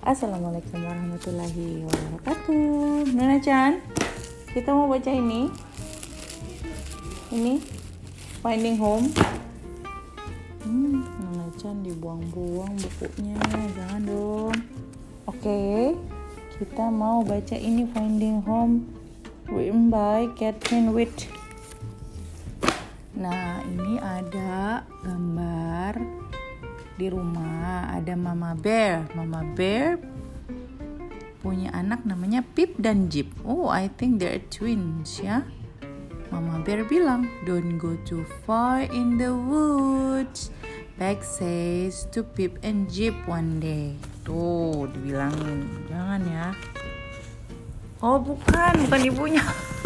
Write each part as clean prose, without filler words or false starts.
Assalamualaikum warahmatullahi wabarakatuh. Nona Chan, kita mau baca ini Finding Home. Nona Chan dibuang-buang bukunya, jangan dong. Oke, kita mau baca ini Finding Home written by Catherine Witt. Nah, ini ada gambar di rumah, ada Mama Bear. Mama Bear punya anak namanya Pip dan Jip. Oh, I think they're twins ya. Mama Bear bilang, "Don't go too far in the woods." Peg says to Pip and Jip one day. Tuh, dibilangin, jangan ya. Oh, bukan ibunya.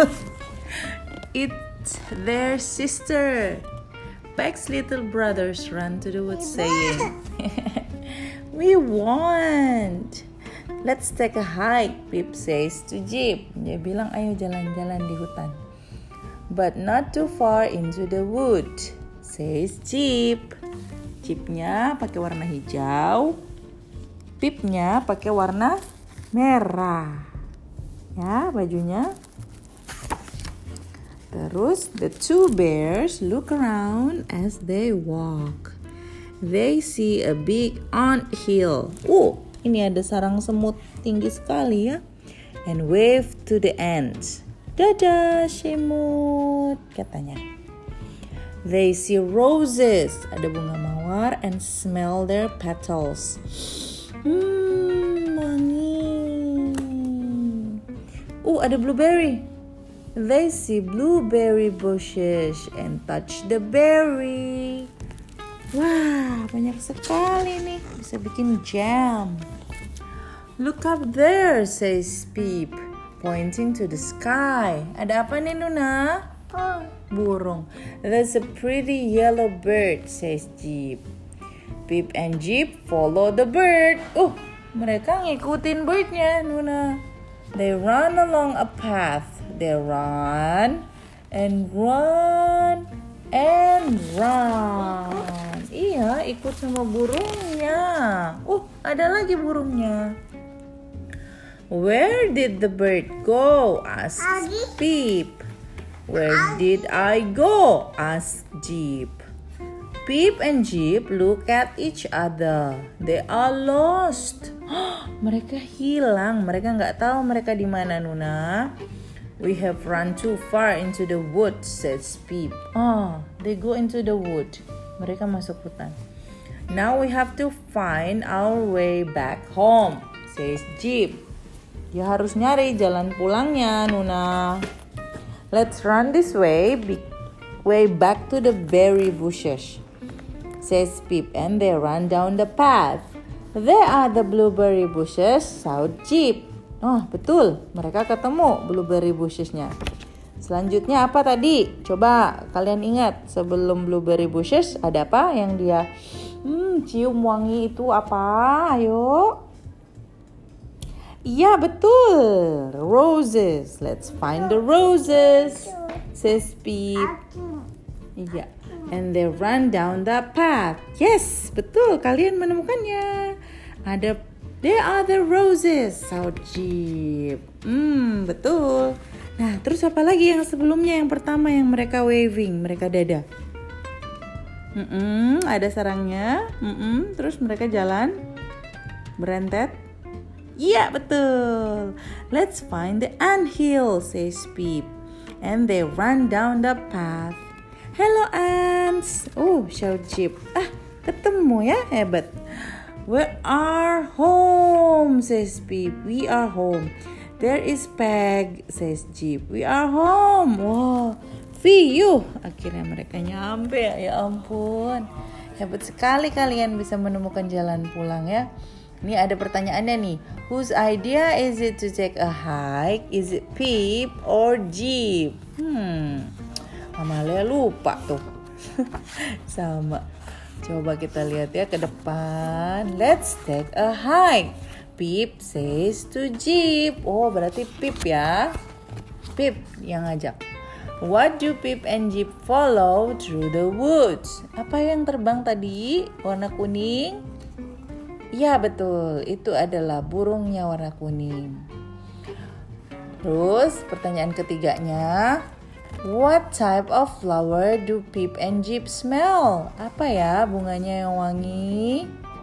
It's their sister. Peg's little brothers run to the woods saying, "We want. Let's take a hike," Pip says to Jip. Dia bilang, ayo jalan-jalan di hutan. "But not too far into the wood," says Jip. Jipnya pakai warna hijau, Pipnya pakai warna merah. Ya, bajunya. Terus the two bears look around as they walk. They see a big ant hill. Ini ada sarang semut tinggi sekali ya. And wave to the ants. "Dadah semut," katanya. They see roses. Ada bunga mawar and smell their petals. Wangi. Ada blueberry. They see blueberry bushes and touch the berry. Wah, banyak sekali nih. Bisa bikin jam. "Look up there," says Pip, pointing to the sky. Ada apa nih, Nuna? Burung. "That's a pretty yellow bird," says Jip. Pip and Jip follow the bird. Mereka ngikutin birdnya, Nuna. They run along a path. They run and run and run. Iya, ikut sama burungnya. Ada lagi burungnya. "Where did the bird go?" asks Pip. "Where did I go?" asks Jip. Pip and Jip look at each other. They are lost. Mereka hilang. Mereka nggak tahu mereka di mana, Nuna. "We have run too far into the wood," says Pip. They go into the wood. Mereka masuk hutan. "Now we have to find our way back home," says Jip. Dia harus nyari jalan pulangnya, Nuna. "Let's run this way back to the berry bushes," says Pip, and they run down the path. "There are the blueberry bushes," shout Jip. Betul, mereka ketemu blueberry bushesnya. Selanjutnya apa tadi? Coba kalian ingat, sebelum blueberry bushes ada apa yang dia cium wangi itu apa? Ayo. Iya, betul. Roses. Let's find the roses, says Pip. Iya. And they run down the path. Yes, betul. Kalian menemukannya. There are the roses, shout Jip. Betul. Nah, terus apa lagi yang sebelumnya, yang pertama yang mereka waving, mereka dada. Ada sarangnya. Terus mereka jalan berentet. Iya, betul. Let's find the anthill, says Pip. And they run down the path. Hello, ants. Shout Jip. Ketemu ya, hebat. We are home, says Pip. We are home. There is Peg, says Jip. We are home. Wow, Fiu. Akhirnya mereka nyampe. Ya ampun. Hebat sekali kalian bisa menemukan jalan pulang ya. Ini ada pertanyaannya nih. Whose idea is it to take a hike? Is it Pip or Jip? Amalia lupa tuh. Sama. Coba kita lihat ya ke depan. Let's take a hike. Pip says to Jip. Berarti Pip ya. Pip yang ngajak. What do Pip and Jip follow through the woods? Apa yang terbang tadi? Warna kuning. Iya betul, itu adalah burungnya warna kuning. Terus pertanyaan ketiganya, what type of flower do Pip and Jip smell? Apa ya bunganya yang wangi?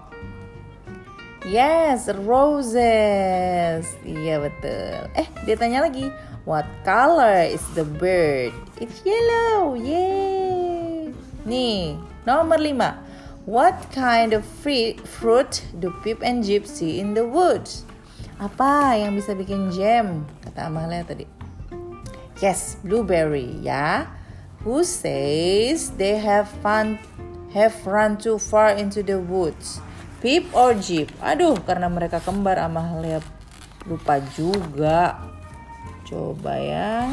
Yes, roses. Iya betul. Dia tanya lagi, what color is the bird? It's yellow. Yay. Nih, nomor 5. What kind of fruit do Pip and Jip see in the woods? Apa yang bisa bikin jam? Kata Amalia tadi. Yes, blueberry ya. Who says they have run too far into the woods? Pip or Jip? Aduh, karena mereka kembar, Amalia lupa juga. Coba ya.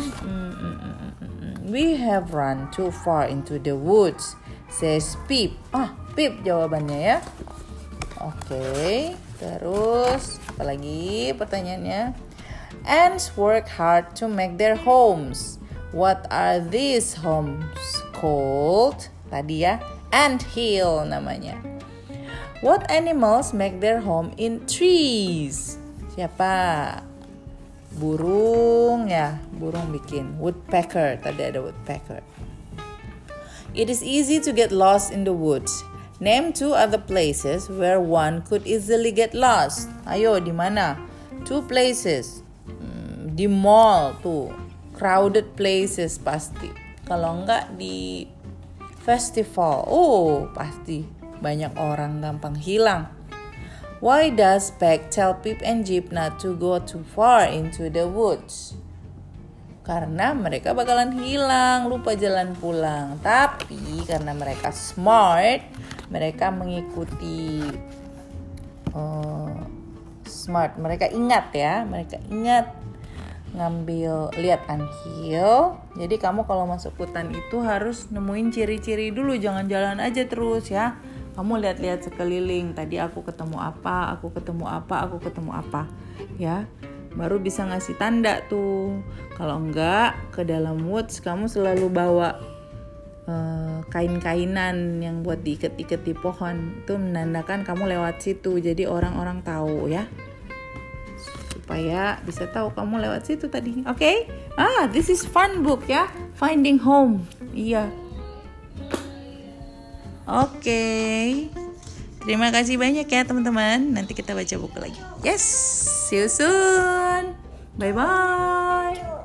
We have run too far into the woods, says Pip. Pip jawabannya ya. Oke, terus apa lagi pertanyaannya? Ants work hard to make their homes. What are these homes called? Tadi ya, ant hill namanya. What animals make their home in trees? Siapa? Burung ya, burung bikin. Woodpecker, tadi ada woodpecker. It is easy to get lost in the woods. Name 2 other places where one could easily get lost. Ayo, di mana? 2 places. Di mall tuh. Crowded places pasti. Kalau enggak di festival. Pasti banyak orang gampang hilang. Why does Peg tell Pip and Jip not to go too far into the woods? Karena mereka bakalan hilang, lupa jalan pulang. Tapi karena mereka smart, mereka mengikuti smart. Mereka ingat ya, ngambil lihat anthill. Jadi kamu kalau masuk hutan itu harus nemuin ciri-ciri dulu, jangan jalan aja terus ya. Kamu lihat-lihat sekeliling. Tadi aku ketemu apa, aku ketemu apa, ya. Baru bisa ngasih tanda tuh. Kalau enggak, ke dalam woods kamu selalu bawa kain-kainan yang buat diikat-ikat di pohon. Itu menandakan kamu lewat situ. Jadi orang-orang tahu ya. Supaya bisa tahu kamu lewat situ tadi. Oke? This is fun book ya. Finding Home. Iya. Oke. Terima kasih banyak ya teman-teman. Nanti kita baca buku lagi. Yes, see you soon. Bye-bye.